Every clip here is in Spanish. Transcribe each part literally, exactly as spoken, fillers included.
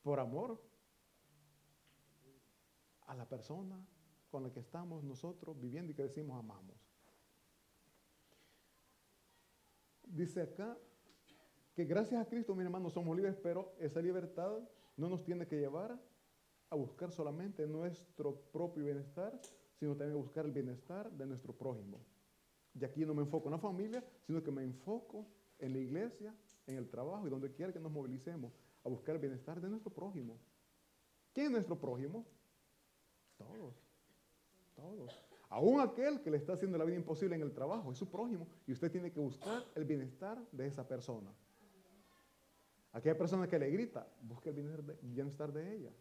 por amor a la persona con la que estamos nosotros viviendo y que decimos amamos. Dice acá que gracias a Cristo, mis hermanos, somos libres, pero esa libertad no nos tiene que llevar a buscar solamente nuestro propio bienestar, sino también a buscar el bienestar de nuestro prójimo. Y aquí no me enfoco en la familia, sino que me enfoco en la iglesia, en el trabajo y donde quiera que nos movilicemos a buscar el bienestar de nuestro prójimo. ¿Quién es nuestro prójimo? Todos, todos. Aún aquel que le está haciendo la vida imposible en el trabajo es su prójimo y usted tiene que buscar el bienestar de esa persona. Aquella persona que le grita, busque el bienestar de, bienestar de ella.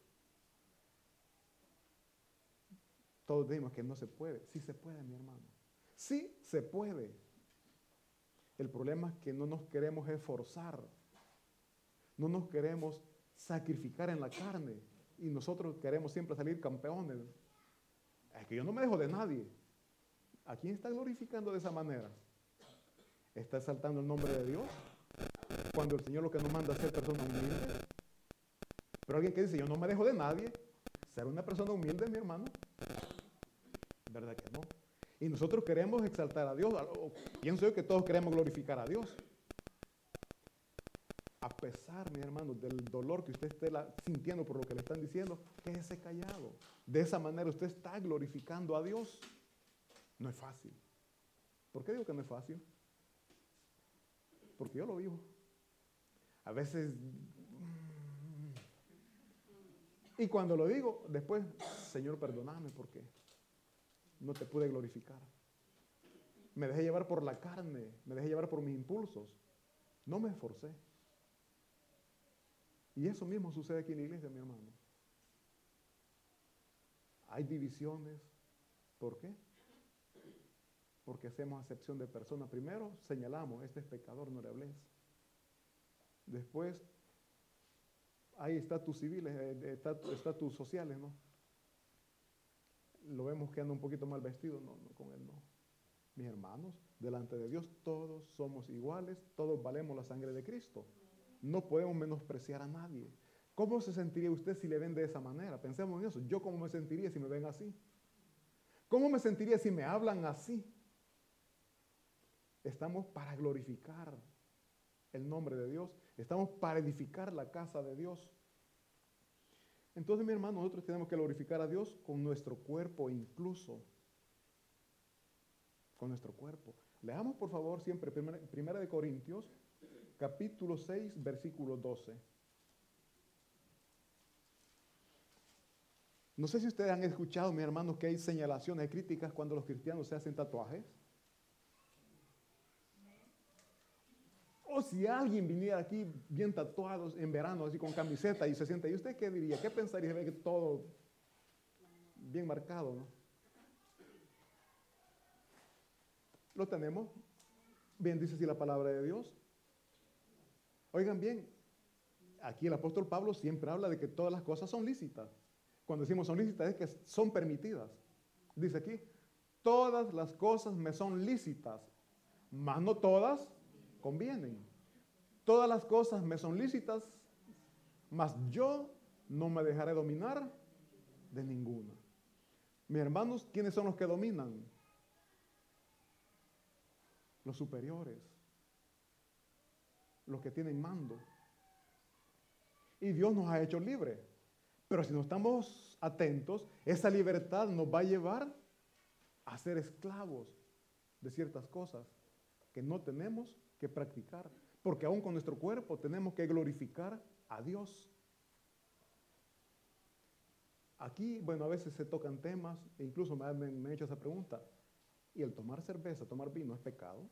Todos decimos que no se puede. Sí se puede, mi hermano. Sí se puede. El problema es que no nos queremos esforzar. No nos queremos sacrificar en la carne. Y nosotros queremos siempre salir campeones. Es que yo no me dejo de nadie. ¿A quién está glorificando de esa manera? ¿Está exaltando el nombre de Dios? Cuando el Señor lo que nos manda es ser persona humilde. Pero alguien que dice, yo no me dejo de nadie, ser una persona humilde, mi hermano. ¿Verdad que no? Y nosotros queremos exaltar a Dios. Pienso yo que todos queremos glorificar a Dios. A pesar, mi hermano, del dolor que usted esté la, sintiendo por lo que le están diciendo, quédese callado. De esa manera usted está glorificando a Dios. No es fácil. ¿Por qué digo que no es fácil? Porque yo lo vivo. A veces, y cuando lo digo, después, Señor, perdóname porque no te pude glorificar. Me dejé llevar por la carne, me dejé llevar por mis impulsos. No me esforcé. Y eso mismo sucede aquí en la iglesia, mi hermano. Hay divisiones. ¿Por qué? Porque hacemos acepción de personas. Primero señalamos, este es pecador, no le hables. Después hay estatus civiles, estatus sociales, ¿no? Lo vemos que anda un poquito mal vestido, no, no, con él no. Mis hermanos, delante de Dios todos somos iguales, todos valemos la sangre de Cristo. No podemos menospreciar a nadie. ¿Cómo se sentiría usted si le ven de esa manera? Pensemos en eso. ¿Yo cómo me sentiría si me ven así? ¿Cómo me sentiría si me hablan así? Estamos para glorificar el nombre de Dios. Estamos para edificar la casa de Dios. Entonces, mi hermano, nosotros tenemos que glorificar a Dios con nuestro cuerpo incluso. Con nuestro cuerpo. Leamos, por favor, siempre Primera, primera de Corintios, capítulo seis, versículo doce. No sé si ustedes han escuchado, mis hermanos, que hay señalaciones, críticas cuando los cristianos se hacen tatuajes. O si alguien viniera aquí bien tatuado en verano, así con camiseta y se sienta, ¿y usted qué diría? ¿Qué pensaría? Ve que todo bien marcado, ¿no? Lo tenemos. Bien dice así la palabra de Dios. Oigan bien, aquí el apóstol Pablo siempre habla de que todas las cosas son lícitas. Cuando decimos son lícitas es que son permitidas. Dice aquí, todas las cosas me son lícitas, mas no todas convienen. Todas las cosas me son lícitas, mas yo no me dejaré dominar de ninguna. Mis hermanos, ¿quiénes son los que dominan? Los superiores, los que tienen mando. Y Dios nos ha hecho libres. Pero si no estamos atentos, esa libertad nos va a llevar a ser esclavos de ciertas cosas que no tenemos que practicar. Porque aún con nuestro cuerpo tenemos que glorificar a Dios. Aquí, bueno, a veces se tocan temas, e incluso me han, me han hecho esa pregunta. ¿Y el tomar cerveza, tomar vino es pecado?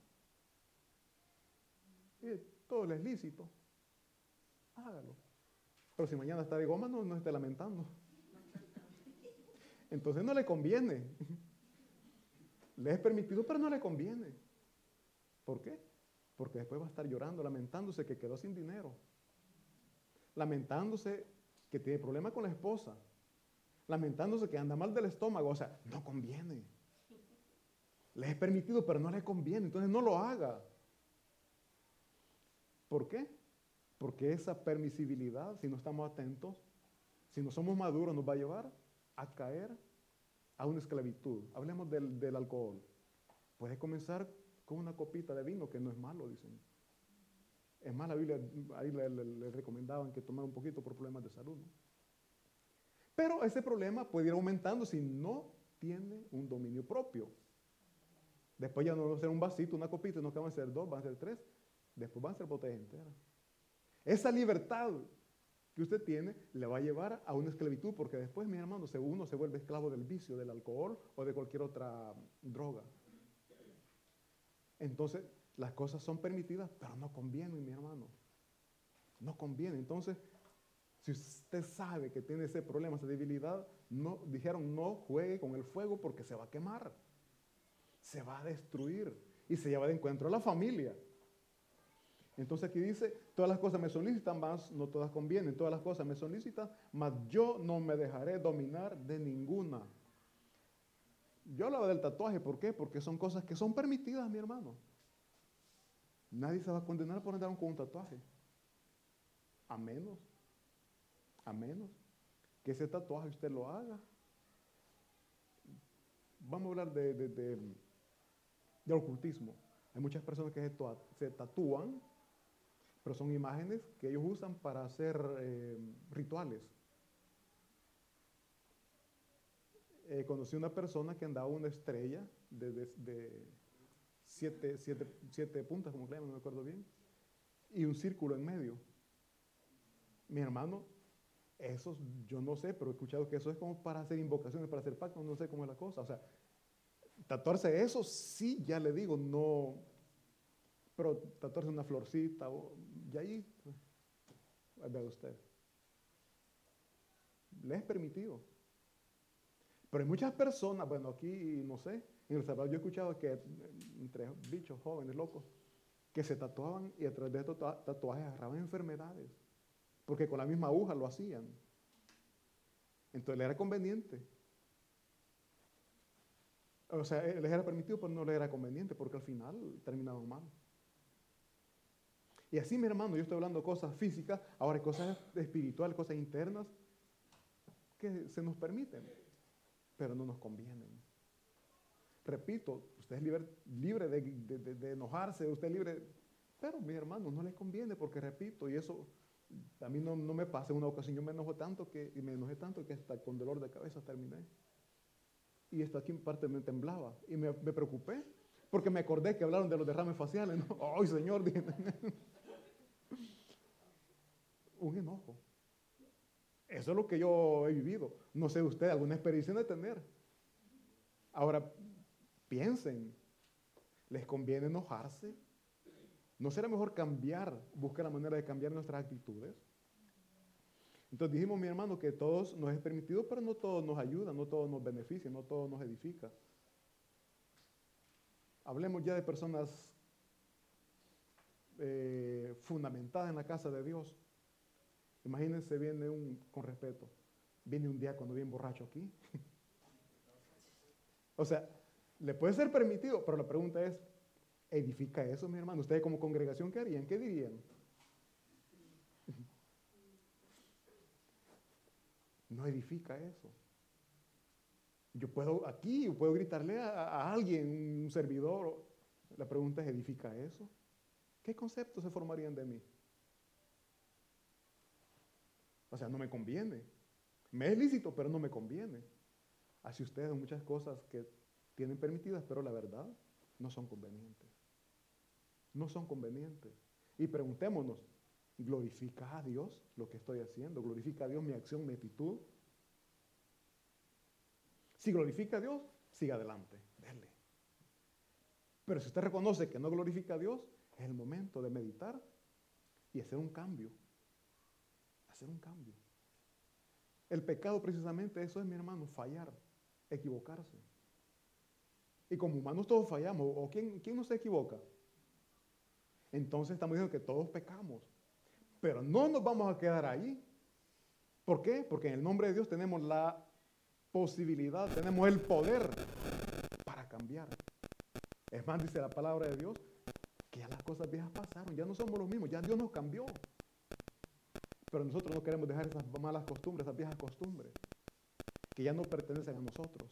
Y todo es lícito. Hágalo. Pero si mañana está de goma, no, no esté lamentando. Entonces no le conviene. Le es permitido, pero no le conviene. ¿Por qué? Porque después va a estar llorando, lamentándose que quedó sin dinero. Lamentándose que tiene problemas con la esposa. Lamentándose que anda mal del estómago. O sea, no conviene. Le es permitido, pero no le conviene. Entonces no lo haga. ¿Por qué? Porque esa permisibilidad, si no estamos atentos, si no somos maduros, nos va a llevar a caer a una esclavitud. Hablemos del, del alcohol. Puede comenzar con una copita de vino, que no es malo, dicen. Es más, la Biblia, ahí le, le, le recomendaban que tomara un poquito por problemas de salud, ¿no? Pero ese problema puede ir aumentando si no tiene un dominio propio. Después ya no va a ser un vasito, una copita, no que van a ser dos, van a ser tres. Después van a ser botellas enteras. Esa libertad que usted tiene le va a llevar a una esclavitud, porque después, mi hermano, uno se vuelve esclavo del vicio, del alcohol o de cualquier otra droga. Entonces, las cosas son permitidas, pero no convienen, mi hermano. No conviene. Entonces, si usted sabe que tiene ese problema, esa debilidad, no, dijeron no juegue con el fuego porque se va a quemar. Se va a destruir y se lleva de encuentro a la familia. Entonces aquí dice, todas las cosas me son lícitas, mas no todas convienen. Todas las cosas me son lícitas, mas yo no me dejaré dominar de ninguna. Yo hablaba del tatuaje, ¿por qué? Porque son cosas que son permitidas, mi hermano. Nadie se va a condenar por andar con un tatuaje. A menos, a menos que ese tatuaje usted lo haga. Vamos a hablar de, de, de, de ocultismo. Hay muchas personas que se, se tatúan, pero son imágenes que ellos usan para hacer eh, rituales. Eh, conocí una persona que andaba una estrella de, de, de siete, siete, siete puntas, como se llama, no me acuerdo bien, y un círculo en medio. Mi hermano, eso yo no sé, pero he escuchado que eso es como para hacer invocaciones, para hacer pactos, no sé cómo es la cosa. O sea, tatuarse eso sí, ya le digo, no, pero tatuarse una florcita, y ahí, pues, vea usted, le es permitido. Pero hay muchas personas, bueno, aquí, no sé, en El Salvador yo he escuchado que entre bichos jóvenes, locos, que se tatuaban y a través de estos tatuajes agarraban enfermedades, porque con la misma aguja lo hacían. Entonces le era conveniente. O sea, les era permitido, pero no les era conveniente, porque al final terminaban mal. Y así, mi hermano, yo estoy hablando de cosas físicas, ahora hay cosas espirituales, cosas internas, que se nos permiten, pero no nos convienen. Repito, usted es libre, libre de, de, de, de enojarse, usted es libre, pero mi hermano, no le conviene, porque repito, y eso a mí no, no me pasa en una ocasión, yo me enojo tanto que, y me enojé tanto que hasta con dolor de cabeza terminé. Y esto aquí en parte me temblaba, y me, me preocupé, porque me acordé que hablaron de los derrames faciales, ¿no? ¡Ay, Señor! Un enojo. Eso es lo que yo he vivido. No sé usted, alguna experiencia de tener. Ahora, piensen, ¿les conviene enojarse? ¿No será mejor cambiar, buscar la manera de cambiar nuestras actitudes? Entonces dijimos, mi hermano, que todos nos es permitido, pero no todo nos ayuda, no todo nos beneficia, no todo nos edifica. Hablemos ya de personas eh, fundamentadas en la casa de Dios. Imagínense, viene un, con respeto, viene un diácono bien borracho aquí. O sea, le puede ser permitido, pero la pregunta es, ¿edifica eso, mi hermano? ¿Ustedes como congregación qué harían? ¿Qué dirían? No edifica eso. Yo puedo aquí, puedo gritarle a, a alguien, un servidor. La pregunta es, ¿edifica eso? ¿Qué conceptos se formarían de mí? O sea, no me conviene. Me es lícito, pero no me conviene. Así ustedes muchas cosas que tienen permitidas, pero la verdad no son convenientes. No son convenientes. Y preguntémonos, ¿glorifica a Dios lo que estoy haciendo? ¿Glorifica a Dios mi acción, mi actitud? Si glorifica a Dios, siga adelante, dele. Pero si usted reconoce que no glorifica a Dios, es el momento de meditar y hacer un cambio. Hacer un cambio. El pecado precisamente eso es, mi hermano, fallar, equivocarse. Y como humanos todos fallamos. ¿O quién, quién no se equivoca? Entonces estamos diciendo que todos pecamos. Pero no nos vamos a quedar ahí. ¿Por qué? Porque en el nombre de Dios tenemos la posibilidad, tenemos el poder para cambiar. Es más, dice la palabra de Dios, que ya las cosas viejas pasaron, ya no somos los mismos, ya Dios nos cambió. Pero nosotros no queremos dejar esas malas costumbres, esas viejas costumbres, que ya no pertenecen a nosotros.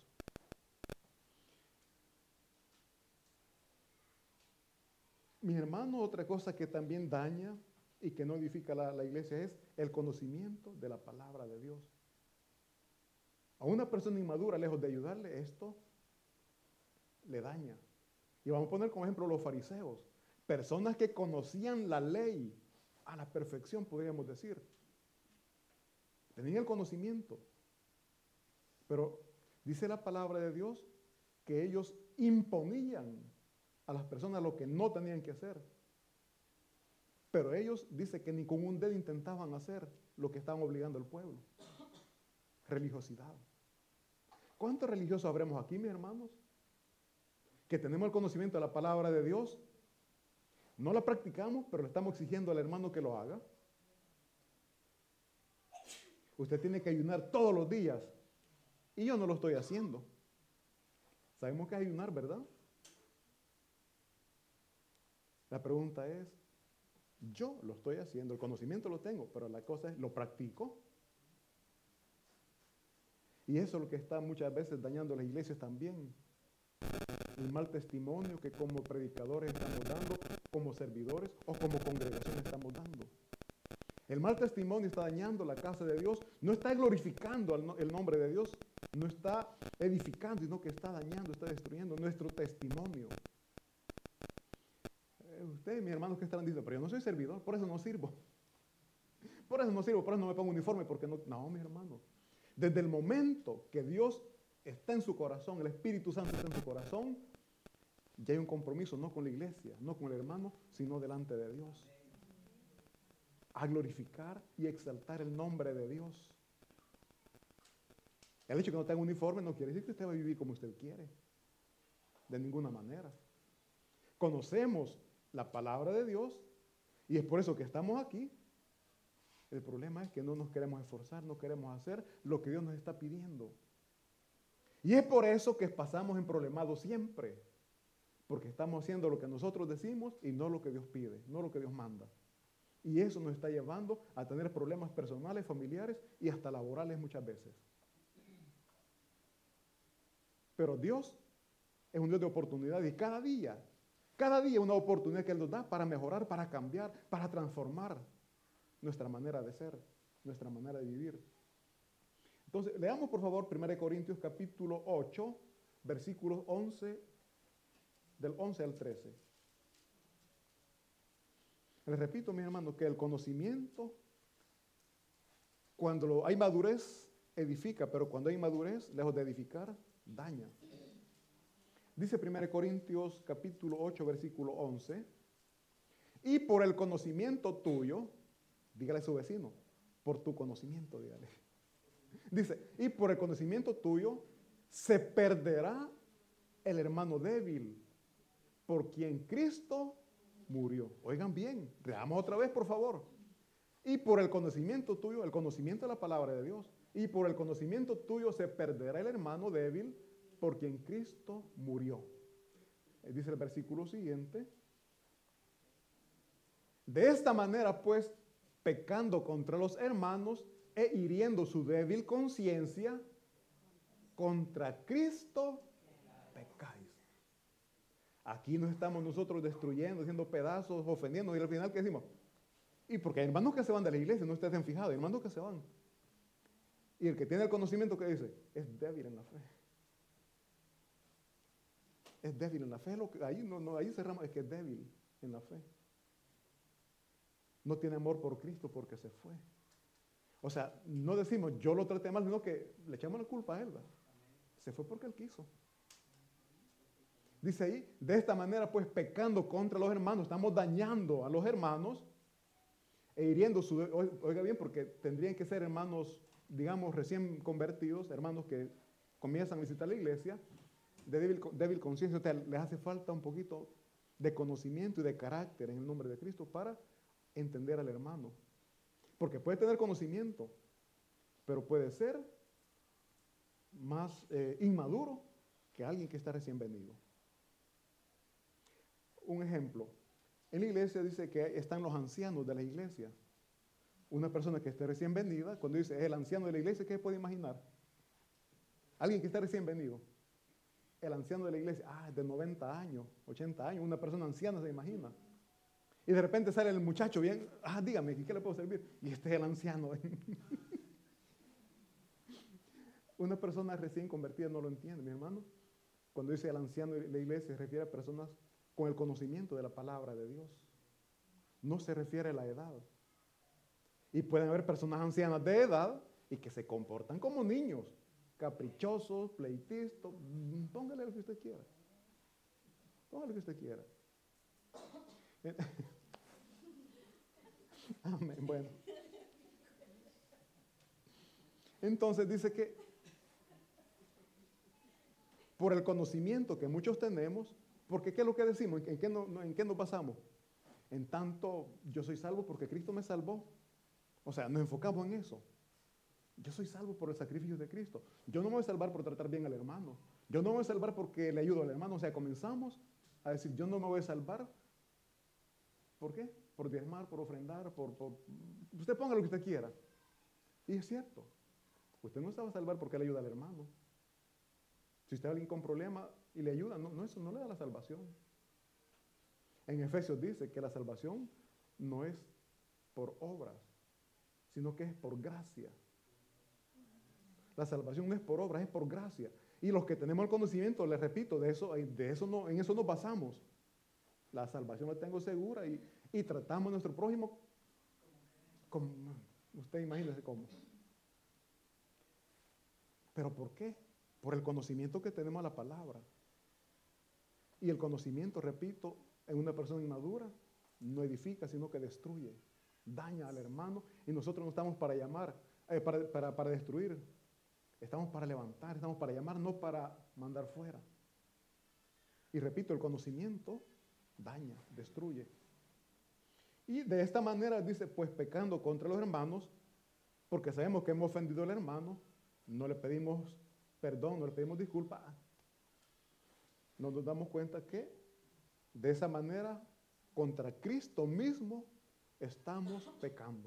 Mis hermanos, otra cosa que también daña y que no edifica la, la iglesia es el conocimiento de la palabra de Dios. A una persona inmadura, lejos de ayudarle, esto le daña. Y vamos a poner como ejemplo los fariseos, personas que conocían la ley a la perfección, podríamos decir. Tenían el conocimiento. Pero dice la palabra de Dios que ellos imponían a las personas lo que no tenían que hacer. Pero ellos, dice que ni con un dedo intentaban hacer lo que estaban obligando al pueblo. Religiosidad. ¿Cuántos religiosos habremos aquí, mis hermanos? Que tenemos el conocimiento de la palabra de Dios, no la practicamos, pero le estamos exigiendo al hermano que lo haga. Usted tiene que ayunar todos los días y yo no lo estoy haciendo. Sabemos que es ayunar, ¿verdad? La pregunta es, yo lo estoy haciendo, el conocimiento lo tengo, pero la cosa es, ¿lo practico? Y eso es lo que está muchas veces dañando las iglesias también. El mal testimonio que como predicadores estamos dando, como servidores o como congregación estamos dando. El mal testimonio está dañando la casa de Dios, no está glorificando el nombre de Dios, no está edificando, sino que está dañando, está destruyendo nuestro testimonio. Ustedes, mis hermanos, que estarán diciendo, pero yo no soy servidor, por eso no sirvo. Por eso no sirvo, por eso no me pongo uniforme, porque no, no, mis hermanos. Desde el momento que Dios está en su corazón, el Espíritu Santo está en su corazón, ya hay un compromiso, no con la iglesia, no con el hermano, sino delante de Dios. A glorificar y exaltar el nombre de Dios. El hecho de que no tenga uniforme no quiere decir que usted va a vivir como usted quiere. De ninguna manera. Conocemos la palabra de Dios y es por eso que estamos aquí. El problema es que no nos queremos esforzar, no queremos hacer lo que Dios nos está pidiendo. Y es por eso que pasamos en problemados siempre. Porque estamos haciendo lo que nosotros decimos y no lo que Dios pide, no lo que Dios manda. Y eso nos está llevando a tener problemas personales, familiares y hasta laborales muchas veces. Pero Dios es un Dios de oportunidades y cada día, cada día una oportunidad que Él nos da para mejorar, para cambiar, para transformar nuestra manera de ser, nuestra manera de vivir. Entonces, leamos por favor primera de Corintios capítulo ocho, versículos once, del once al trece. Les repito, mis hermanos, que el conocimiento, cuando hay madurez, edifica, pero cuando hay madurez, lejos de edificar, daña. Dice primera de Corintios capítulo ocho, versículo once, y por el conocimiento tuyo, dígale a su vecino, por tu conocimiento, dígale. Dice, y por el conocimiento tuyo se perderá el hermano débil, por quien Cristo murió. Oigan bien, leamos otra vez, por favor. Y por el conocimiento tuyo, el conocimiento de la palabra de Dios, y por el conocimiento tuyo se perderá el hermano débil, por quien Cristo murió. Dice el versículo siguiente. De esta manera, pues, pecando contra los hermanos e hiriendo su débil conciencia, contra Cristo pecáis. Aquí nos estamos nosotros destruyendo, haciendo pedazos, ofendiendo, y al final, ¿qué decimos? Y porque hay hermanos que se van de la iglesia, no ustedes fijados, hay hermanos que se van. Y el que tiene el conocimiento, ¿qué dice? Es débil en la fe. Es débil en la fe. Lo que, ahí, no, no, ahí cerramos, es que es débil en la fe. No tiene amor por Cristo porque se fue. O sea, no decimos, yo lo traté mal, sino que le echamos la culpa a él, ¿verdad? Se fue porque él quiso. Dice ahí, de esta manera, pues, pecando contra los hermanos, estamos dañando a los hermanos e hiriendo su... Oiga bien, porque tendrían que ser hermanos, digamos, recién convertidos, hermanos que comienzan a visitar la iglesia, de débil, débil conciencia. O sea, les hace falta un poquito de conocimiento y de carácter en el nombre de Cristo para entender al hermano. Porque puede tener conocimiento, pero puede ser más eh, inmaduro que alguien que está recién venido. Un ejemplo, en la iglesia dice que están los ancianos de la iglesia. Una persona que esté recién venida, cuando dice el anciano de la iglesia, ¿qué puede imaginar? Alguien que está recién venido. El anciano de la iglesia, ah, de noventa años, ochenta años, una persona anciana se imagina. Y de repente sale el muchacho bien, ah, dígame, ¿qué le puedo servir? Y este es el anciano. Una persona recién convertida no lo entiende, mi hermano. Cuando dice el anciano de la iglesia, se refiere a personas con el conocimiento de la palabra de Dios. No se refiere a la edad. Y pueden haber personas ancianas de edad y que se comportan como niños, caprichosos, pleitistas. Póngale lo que usted quiera. Póngale lo que usted quiera. Amén. Bueno. Entonces dice que por el conocimiento que muchos tenemos, porque ¿qué es lo que decimos? ¿En qué, no, en qué nos basamos? En tanto, yo soy salvo porque Cristo me salvó. O sea, nos enfocamos en eso. Yo soy salvo por el sacrificio de Cristo. Yo no me voy a salvar por tratar bien al hermano. Yo no me voy a salvar porque le ayudo al hermano. O sea, comenzamos a decir, yo no me voy a salvar. ¿Por qué? Por diezmar, por ofrendar, por, por... Usted ponga lo que usted quiera. Y es cierto. Usted no se va a salvar porque le ayuda al hermano. Si usted es alguien con problema y le ayuda, no, no, eso no le da la salvación. En Efesios dice que la salvación no es por obras, sino que es por gracia. La salvación no es por obras, es por gracia. Y los que tenemos el conocimiento, les repito, de eso, de eso no, en eso nos basamos. La salvación la tengo segura y, y tratamos a nuestro prójimo como, usted imagínese cómo. ¿Pero por qué? Por el conocimiento que tenemos a la palabra. Y el conocimiento, repito, en una persona inmadura no edifica, sino que destruye, daña al hermano. Y nosotros no estamos para llamar, eh, para, para, para destruir. Estamos para levantar, estamos para llamar, no para mandar fuera. Y repito, el conocimiento daña, destruye. Y de esta manera dice, pues pecando contra los hermanos, porque sabemos que hemos ofendido al hermano, no le pedimos perdón, no le pedimos disculpas, nos damos cuenta que de esa manera contra Cristo mismo estamos pecando.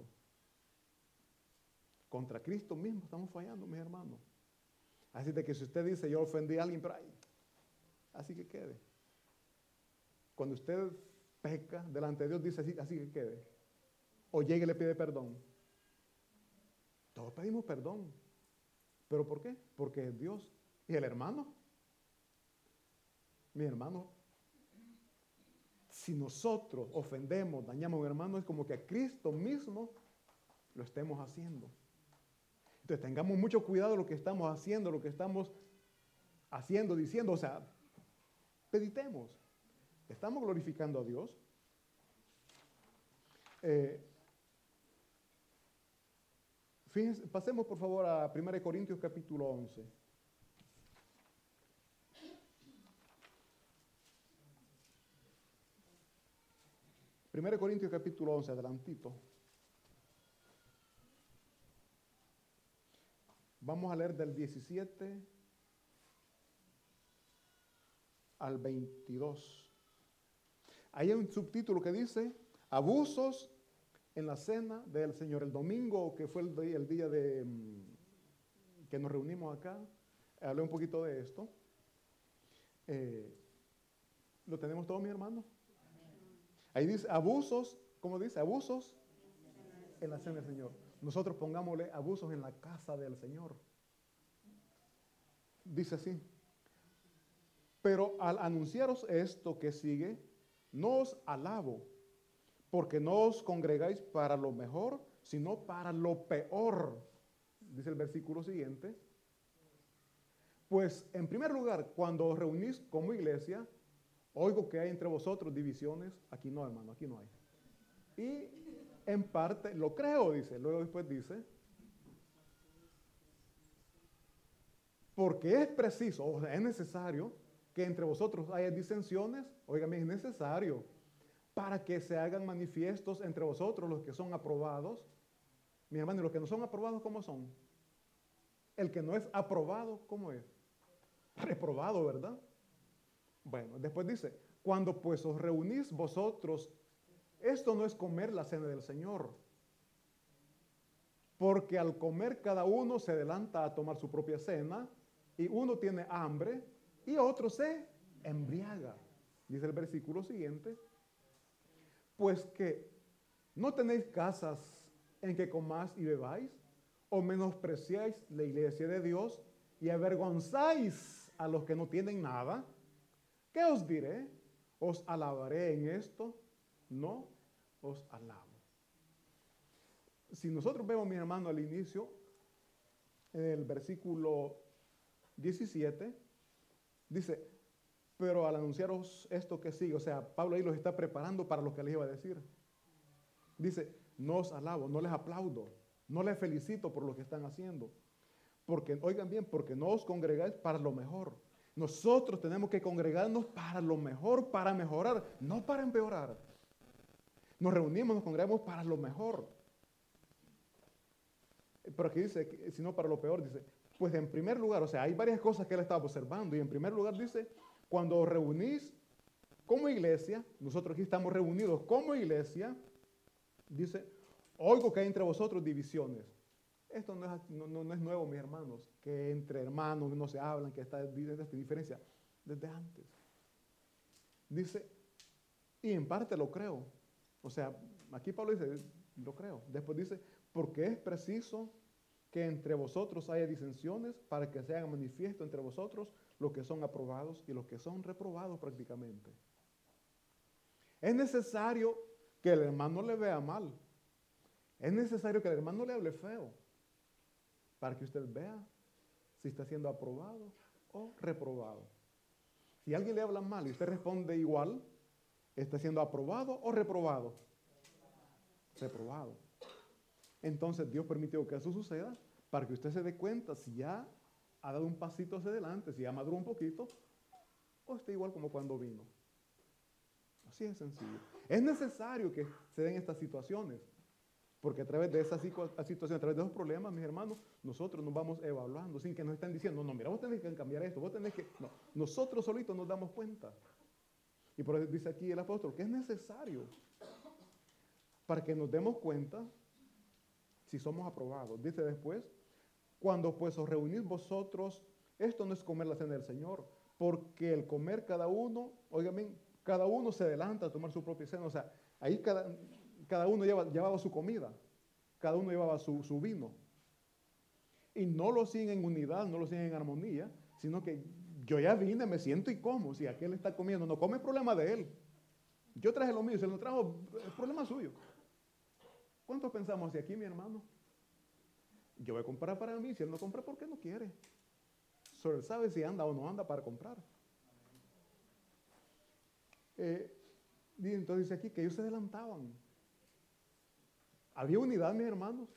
Contra Cristo mismo estamos fallando, mis hermanos. Así de que si usted dice, yo ofendí a alguien, pero ay, así que quede. Cuando usted peca delante de Dios, dice así, así que quede. O llegue y le pide perdón. Todos pedimos perdón. ¿Pero por qué? Porque es Dios. ¿Y el hermano? Mi hermano, si nosotros ofendemos, dañamos a un hermano, es como que a Cristo mismo lo estemos haciendo. Entonces tengamos mucho cuidado de lo que estamos haciendo, lo que estamos haciendo, diciendo, o sea, meditemos. ¿Estamos glorificando a Dios? Eh, fíjense, pasemos por favor a primera de Corintios capítulo once. primera de Corintios capítulo once, adelantito. Vamos a leer del diecisiete al veintidós. Ahí hay un subtítulo que dice, abusos en la cena del Señor. El domingo, que fue el día, el día de, que nos reunimos acá, hablé un poquito de esto. Eh, ¿Lo tenemos todo, mi hermano? Ahí dice, abusos, ¿cómo dice? Abusos en la cena del Señor. Nosotros pongámosle abusos en la casa del Señor. Dice así. Pero al anunciaros esto que sigue, no os alabo, porque no os congregáis para lo mejor, sino para lo peor. Dice el versículo siguiente. Pues, en primer lugar, cuando os reunís como iglesia, oigo que hay entre vosotros divisiones. Aquí no, hermano, aquí no hay. Y en parte, lo creo, dice. Luego después dice, porque es preciso, o sea, es necesario que entre vosotros haya disensiones. Óigame, es necesario para que se hagan manifiestos entre vosotros los que son aprobados. Mi hermano, y los que no son aprobados, ¿cómo son? El que no es aprobado, ¿cómo es? Reprobado, ¿verdad? Bueno, después dice, cuando pues os reunís vosotros, esto no es comer la cena del Señor. porque al comer cada uno se adelanta a tomar su propia cena, y uno tiene hambre y otro se embriaga. Dice el versículo siguiente, pues que no tenéis casas en que comáis y bebáis, o menospreciáis la iglesia de Dios y avergonzáis a los que no tienen nada. ¿Qué os diré? ¿Os alabaré en esto? No os alabo. Si nosotros vemos, mi hermano, al inicio, en el versículo diecisiete, dice, pero al anunciaros esto que sigue, o sea, Pablo ahí los está preparando para lo que les iba a decir. Dice, no os alabo, no les aplaudo, no les felicito por lo que están haciendo. Porque, oigan bien, porque no os congregáis para lo mejor. Nosotros tenemos que congregarnos para lo mejor, para mejorar, no para empeorar. Nos reunimos, nos congregamos para lo mejor. Pero aquí dice, si no para lo peor, dice, pues en primer lugar, o sea, hay varias cosas que él estaba observando, y en primer lugar dice, cuando os reunís como iglesia, nosotros aquí estamos reunidos como iglesia, dice, oigo que hay entre vosotros divisiones. Esto no es, no, no, no es nuevo, mis hermanos, que entre hermanos no se hablan, que está esta diferencia desde antes. Dice, y en parte lo creo. O sea, aquí Pablo dice, lo creo. Después dice, porque es preciso que entre vosotros haya disensiones para que se haga manifiesto entre vosotros los que son aprobados y los que son reprobados prácticamente. Es necesario que el hermano le vea mal. Es necesario que el hermano le hable feo para que usted vea si está siendo aprobado o reprobado. Si alguien le habla mal y usted responde igual, ¿está siendo aprobado o reprobado? Reprobado. Entonces Dios permitió que eso suceda para que usted se dé cuenta si ya ha dado un pasito hacia adelante, si ya maduró un poquito, o está igual como cuando vino. Así es sencillo. Es necesario que se den estas situaciones, porque a través de esa situación, a través de esos problemas, mis hermanos, nosotros nos vamos evaluando sin que nos estén diciendo, no, mira, vos tenés que cambiar esto, vos tenés que... No, nosotros solitos nos damos cuenta. Y por eso dice aquí el apóstol que es necesario para que nos demos cuenta si somos aprobados. Dice después, cuando pues os reunís vosotros, esto no es comer la cena del Señor, porque el comer cada uno, oigan bien, cada uno se adelanta a tomar su propia cena, o sea, ahí cada, cada uno lleva, llevaba su comida, cada uno llevaba su, su vino. Y no lo siguen en unidad, no lo siguen en armonía, sino que yo ya vine, me siento y como. Si aquel está comiendo, no come, es problema de él. Yo traje lo mío, si él no trajo, es problema suyo. ¿Cuántos pensamos así aquí, mi hermano? Yo voy a comprar para mí, si él no compra, ¿por qué no quiere? Solo él sabe si anda o no anda para comprar. Eh, y entonces dice aquí que ellos se adelantaban. Había unidad, mis hermanos.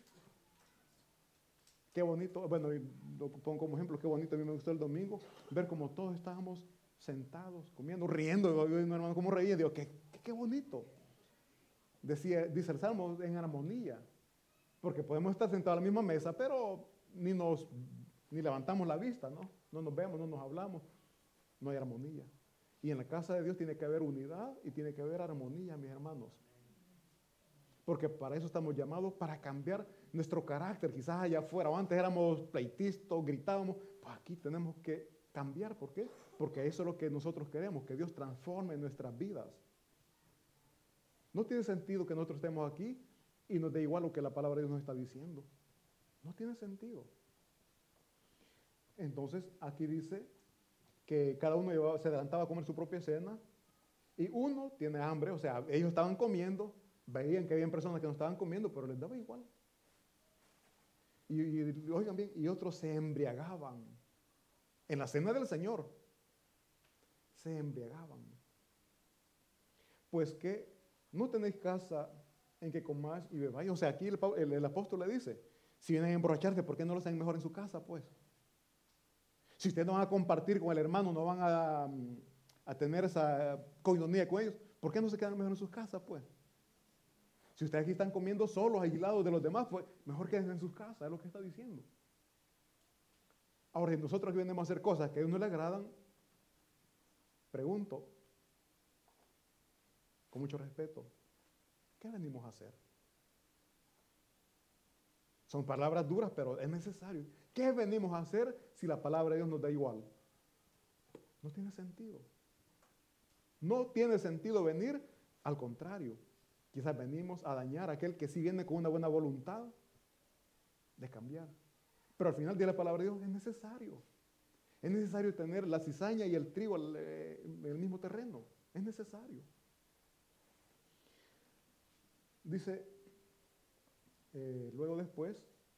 Qué bonito, bueno, lo pongo como ejemplo, qué bonito, a mí me gustó el domingo, ver cómo todos estábamos sentados, comiendo, riendo, yo, mi hermano, cómo reía, digo, qué, qué, qué bonito. Decía, dice el Salmo, en armonía, porque podemos estar sentados a la misma mesa, pero ni nos, ni levantamos la vista, ¿no? No nos vemos, no nos hablamos, no hay armonía. Y en la casa de Dios tiene que haber unidad y tiene que haber armonía, mis hermanos. Porque para eso estamos llamados, para cambiar nuestro carácter. Quizás allá afuera, o antes éramos pleitistas, gritábamos, pues aquí tenemos que cambiar. ¿Por qué? Porque eso es lo que nosotros queremos, que Dios transforme nuestras vidas. No tiene sentido que nosotros estemos aquí y nos dé igual lo que la palabra de Dios nos está diciendo. No tiene sentido. Entonces, aquí dice que cada uno llevaba, se adelantaba a comer su propia cena y uno tiene hambre, o sea, ellos estaban comiendo, veían que había personas que no estaban comiendo, pero les daba igual. Y, y oigan bien, y otros se embriagaban. En la cena del Señor, se embriagaban. Pues que no tenéis casa en que comáis y bebáis. O sea, aquí el, el, el apóstol le dice, si vienen a emborracharse, ¿por qué no lo hacen mejor en su casa, pues? Si ustedes no van a compartir con el hermano, no van a, a tener esa coinonía con ellos, ¿por qué no se quedan mejor en sus casas, pues? Si ustedes aquí están comiendo solos, aislados de los demás, pues mejor quédense en sus casas, es lo que está diciendo. Ahora, si nosotros aquí venimos a hacer cosas que a ellos no les agradan, pregunto, con mucho respeto, ¿qué venimos a hacer? Son palabras duras, pero es necesario. ¿Qué venimos a hacer si la palabra de Dios nos da igual? No tiene sentido. No tiene sentido venir, al contrario. Quizás venimos a dañar a aquel que sí viene con una buena voluntad de cambiar. Pero al final de la palabra de Dios es necesario. Es necesario tener la cizaña y el trigo en el mismo terreno. Es necesario. Dice, eh, luego después,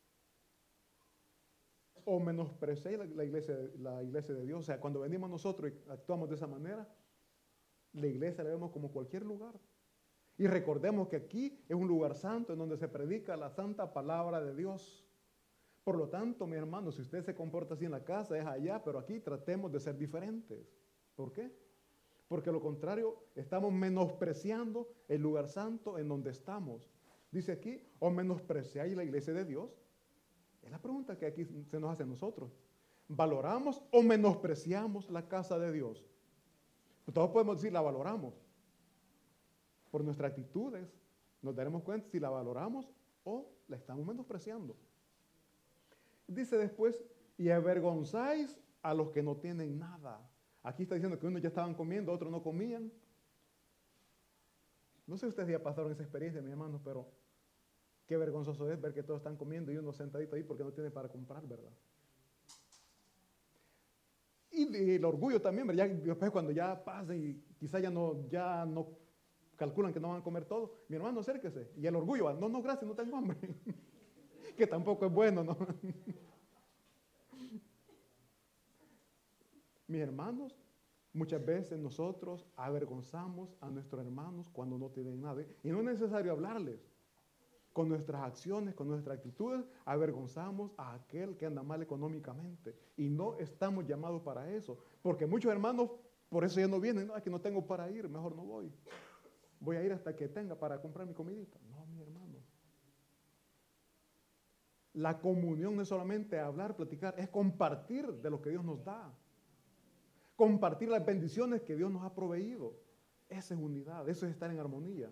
o menospreciéis la, la, iglesia, la iglesia de Dios. O sea, cuando venimos nosotros y actuamos de esa manera, la iglesia la vemos como cualquier lugar. Y recordemos que aquí es un lugar santo en donde se predica la santa palabra de Dios. Por lo tanto, mi hermano, si usted se comporta así en la casa, es allá, pero aquí tratemos de ser diferentes. ¿Por qué? Porque lo contrario, estamos menospreciando el lugar santo en donde estamos. Dice aquí, o menospreciáis la iglesia de Dios. Es la pregunta que aquí se nos hace a nosotros. ¿Valoramos o menospreciamos la casa de Dios? Todos podemos decir, la valoramos. Por nuestras actitudes nos daremos cuenta si la valoramos o la estamos menospreciando. Dice después, y avergonzáis a los que no tienen nada. Aquí está diciendo que unos ya estaban comiendo, otros no comían. No sé si ustedes ya pasaron esa experiencia, mis hermanos, pero qué vergonzoso es ver que todos están comiendo y uno sentadito ahí porque no tiene para comprar, ¿verdad? Y, y el orgullo también, ¿verdad? Ya, después cuando ya pasa y quizás ya no, ya no calculan que no van a comer todo, mi hermano, acérquese. Y el orgullo, no, no, gracias, no tengo hambre. Que tampoco es bueno, ¿no? Mis hermanos, muchas veces nosotros avergonzamos a nuestros hermanos cuando no tienen nada. Y no es necesario hablarles. Con nuestras acciones, con nuestras actitudes, avergonzamos a aquel que anda mal económicamente. Y no estamos llamados para eso. Porque muchos hermanos, por eso ya no vienen. No, es que no tengo para ir, mejor no voy. Voy a ir hasta que tenga para comprar mi comidita. No, mi hermano. La comunión no es solamente hablar, platicar, es compartir de lo que Dios nos da. Compartir las bendiciones que Dios nos ha proveído. Esa es unidad, eso es estar en armonía.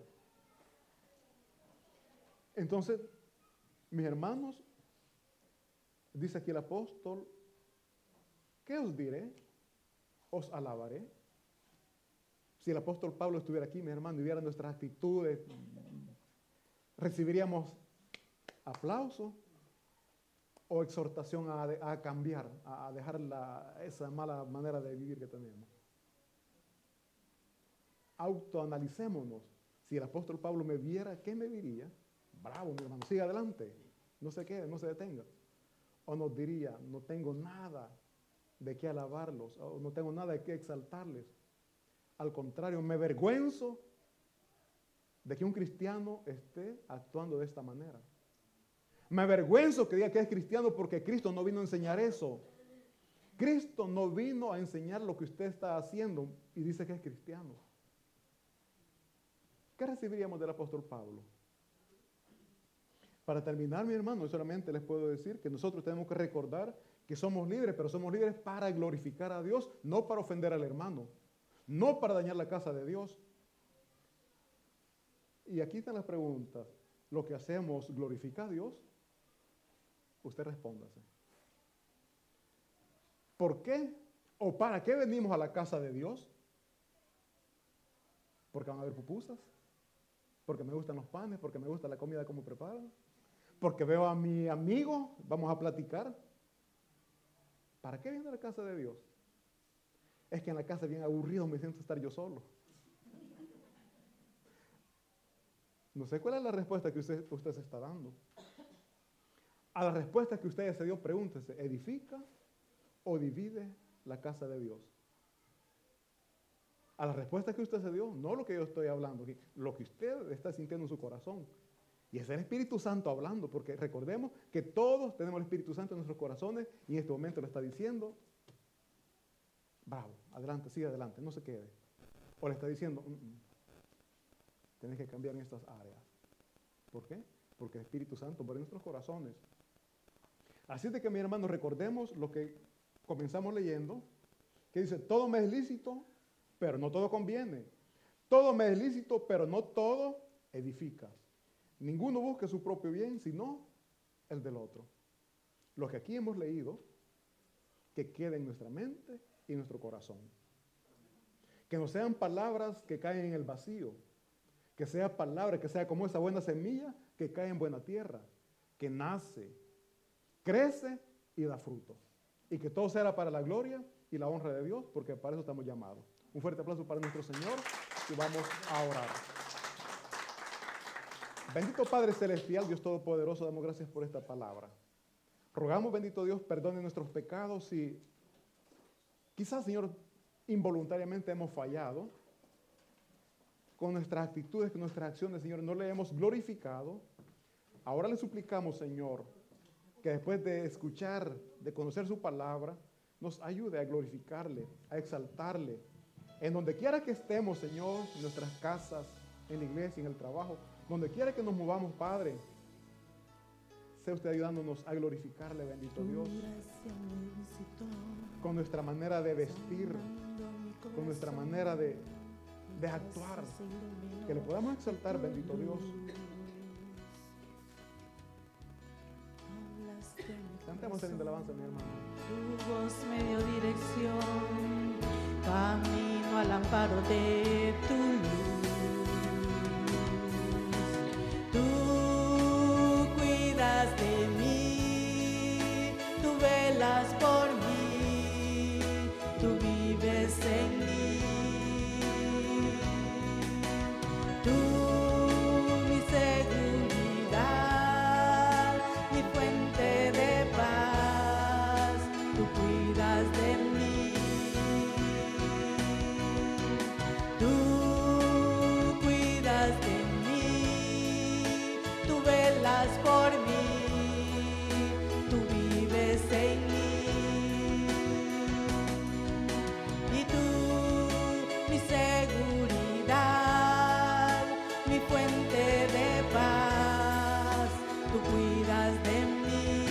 Entonces, mis hermanos, dice aquí el apóstol, ¿qué os diré? Os alabaré. Si el apóstol Pablo estuviera aquí, mis hermanos, y viera nuestras actitudes, recibiríamos aplauso o exhortación a, a cambiar, a dejar la, esa mala manera de vivir que tenemos. Autoanalicémonos. Si el apóstol Pablo me viera, ¿qué me diría? Bravo, mi hermano, siga adelante, no se quede, no se detenga. O nos diría, no tengo nada de qué alabarlos, o no tengo nada de qué exaltarles. Al contrario, me avergüenzo de que un cristiano esté actuando de esta manera. Me avergüenzo que diga que es cristiano porque Cristo no vino a enseñar eso. Cristo no vino a enseñar lo que usted está haciendo y dice que es cristiano. ¿Qué recibiríamos del apóstol Pablo? Para terminar, mi hermano, solamente les puedo decir que nosotros tenemos que recordar que somos libres, pero somos libres para glorificar a Dios, no para ofender al hermano, no para dañar la casa de Dios. Y aquí están las preguntas. ¿Lo que hacemos glorifica a Dios? Usted respóndase. ¿Por qué o para qué venimos a la casa de Dios? Porque van a haber pupusas, porque me gustan los panes, porque me gusta la comida como preparan, porque veo a mi amigo, vamos a platicar. ¿Para qué viene a la casa de Dios? Es que en la casa bien aburrido me siento estar yo solo. No sé cuál es la respuesta que usted, usted se está dando. A la respuesta que usted ya se dio, pregúntese, ¿edifica o divide la casa de Dios? A la respuesta que usted se dio, no lo que yo estoy hablando aquí, lo que usted está sintiendo en su corazón. Y es el Espíritu Santo hablando, porque recordemos que todos tenemos el Espíritu Santo en nuestros corazones y en este momento lo está diciendo, bravo, adelante, sigue adelante, no se quede. O le está diciendo, mm, mm, tienes que cambiar en estas áreas. ¿Por qué? Porque el Espíritu Santo mora en nuestros corazones. Así de que, mi hermano, recordemos lo que comenzamos leyendo, que dice, todo me es lícito, pero no todo conviene. Todo me es lícito, pero no todo edifica. Ninguno busque su propio bien, sino el del otro. Lo que aquí hemos leído, que quede en nuestra mente y en nuestro corazón. Que no sean palabras que caen en el vacío, que sea palabra, que sea como esa buena semilla que cae en buena tierra, que nace, crece y da fruto. Y que todo sea para la gloria y la honra de Dios, porque para eso estamos llamados. Un fuerte aplauso para nuestro Señor y vamos a orar. Bendito Padre Celestial, Dios Todopoderoso, damos gracias por esta palabra. Rogamos, bendito Dios, perdone nuestros pecados y quizás, Señor, involuntariamente hemos fallado con nuestras actitudes, con nuestras acciones, Señor, no le hemos glorificado. Ahora le suplicamos, Señor, que después de escuchar, de conocer su palabra, nos ayude a glorificarle, a exaltarle. En donde quiera que estemos, Señor, en nuestras casas, en la iglesia, en el trabajo, donde quiera que nos movamos, Padre, sea usted ayudándonos a glorificarle, bendito Dios, con nuestra manera de vestir, con nuestra manera de, de actuar, que le podamos exaltar, bendito Dios. Cantemos el de alabanza, mi hermano. Tu voz me dio dirección, camino al amparo de tu luz. Tú cuidas de mí, tú velas por mí, tú vives en mí. Tú mi seguridad, mi fuente de paz, tú cuidas de mí. Tú cuidas de mí, tú velas por mí, tú vives en mí. Y tú, mi seguridad, mi fuente de paz, tú cuidas de mí.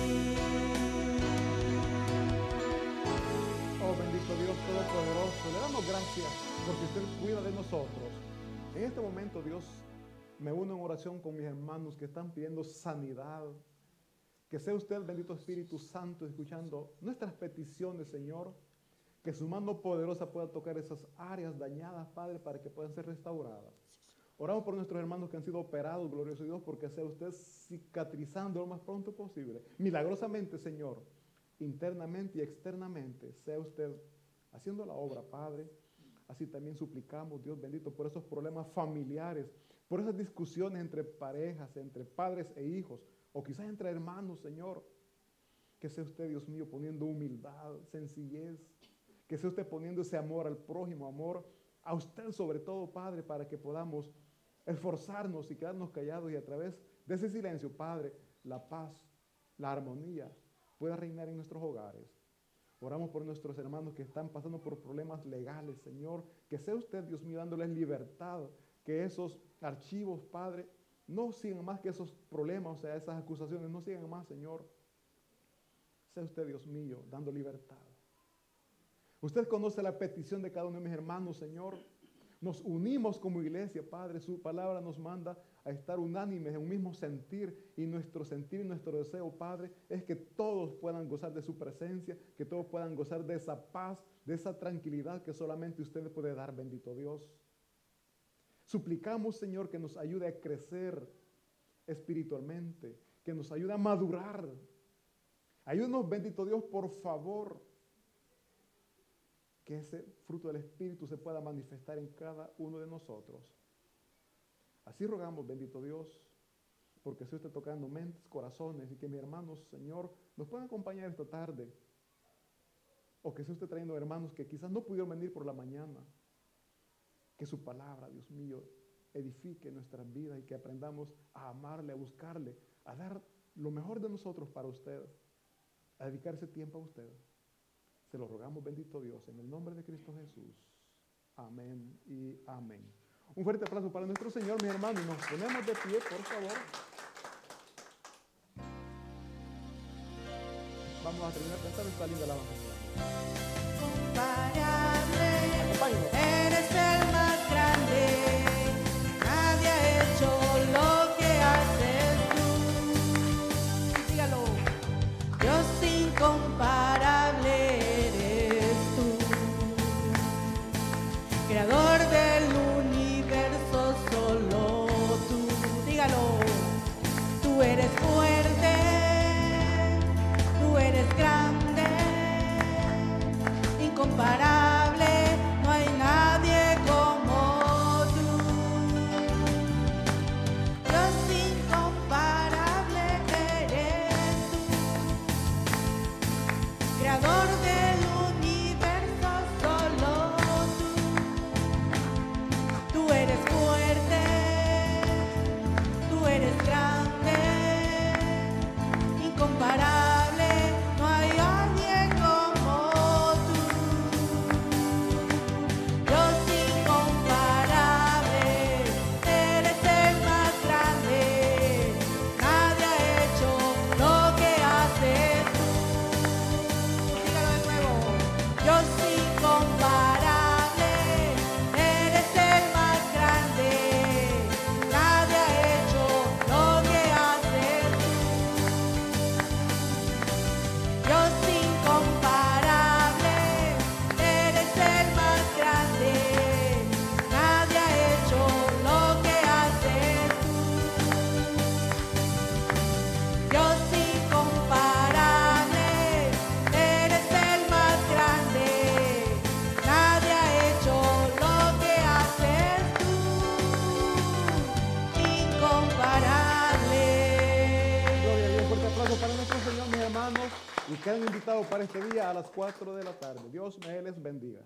Oh, bendito Dios Todopoderoso, le damos gracias porque usted cuida de nosotros. En este momento, Dios, me uno en oración con mis hermanos que están pidiendo sanidad. Que sea usted, bendito Espíritu Santo, escuchando nuestras peticiones, Señor. Que su mano poderosa pueda tocar esas áreas dañadas, Padre, para que puedan ser restauradas. Oramos por nuestros hermanos que han sido operados, glorioso Dios, porque sea usted cicatrizando lo más pronto posible. Milagrosamente, Señor, internamente y externamente, sea usted haciendo la obra, Padre. Así también suplicamos, Dios bendito, por esos problemas familiares, por esas discusiones entre parejas, entre padres e hijos, o quizás entre hermanos, Señor. Que sea usted, Dios mío, poniendo humildad, sencillez, que sea usted poniendo ese amor al prójimo, amor a usted sobre todo, Padre, para que podamos esforzarnos y quedarnos callados y a través de ese silencio, Padre, la paz, la armonía pueda reinar en nuestros hogares. Oramos por nuestros hermanos que están pasando por problemas legales, Señor, que sea usted, Dios mío, dándoles libertad, que esos archivos, Padre, no sigan más que esos problemas, o sea, esas acusaciones, no sigan más, Señor. Sea usted, Dios mío, dando libertad. Usted conoce la petición de cada uno de mis hermanos, Señor. Nos unimos como iglesia, Padre. Su palabra nos manda a estar unánimes en un mismo sentir. Y nuestro sentir y nuestro deseo, Padre, es que todos puedan gozar de su presencia, que todos puedan gozar de esa paz, de esa tranquilidad que solamente usted puede dar, bendito Dios. Suplicamos, Señor, que nos ayude a crecer espiritualmente, que nos ayude a madurar. Ayúdanos, bendito Dios, por favor, que ese fruto del Espíritu se pueda manifestar en cada uno de nosotros. Así rogamos, bendito Dios, porque sea usted tocando mentes, corazones, y que mis hermanos, Señor, nos puedan acompañar esta tarde. O que sea usted trayendo hermanos que quizás no pudieron venir por la mañana. Que su palabra, Dios mío, edifique nuestras vidas y que aprendamos a amarle, a buscarle, a dar lo mejor de nosotros para usted, a dedicar ese tiempo a usted. Se lo rogamos, bendito Dios, en el nombre de Cristo Jesús. Amén y amén. Un fuerte aplauso para nuestro Señor, mis hermanos. Nos ponemos de pie, por favor. Vamos a terminar de cantar esta linda alabanza. Comparable, eres el más grande. Nadie ha hecho lo que haces tú. incomparable, no hay nadie como tú. Dios incomparable eres tú, creador del universo, solo tú. Tú eres fuerte, tú eres grande, incomparable, no hay alguien como tú. Dios incomparable, eres el más grande, nadie ha hecho lo que haces tú. Dígalo de nuevo. Dios incomparable, eres el más grande, nadie ha hecho lo que haces tú. Dios incomparable, eres el más grande, nadie ha hecho lo que haces tú. Dios incomparable, eres el más grande, nadie ha hecho lo que haces tú. Incomparable. Gloria a Dios, fuerte aplauso para nuestro Señor, mis hermanos, y quedan invitados para este día a las cuatro de la tarde. Dios me les bendiga.